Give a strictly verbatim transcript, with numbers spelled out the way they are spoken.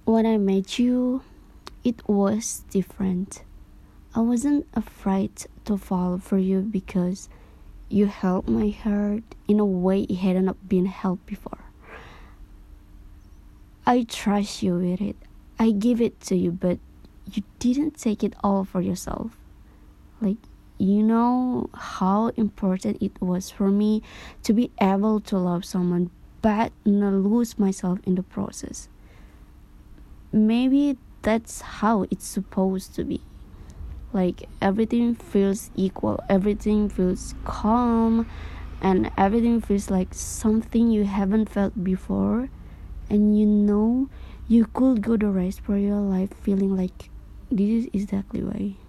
When I met you, it was different. I wasn't afraid to fall for you because you held my heart in a way it hadn't been held before. I trust you with it. I give it to you, but you didn't take it all for yourself. Like, you know how important it was for me to be able to love someone but not lose myself in the process. Maybe that's how it's supposed to be. Like, everything feels equal, everything feels calm, and everything feels like something you haven't felt before. And you know, you could go the rest for your life feeling like this is exactly why.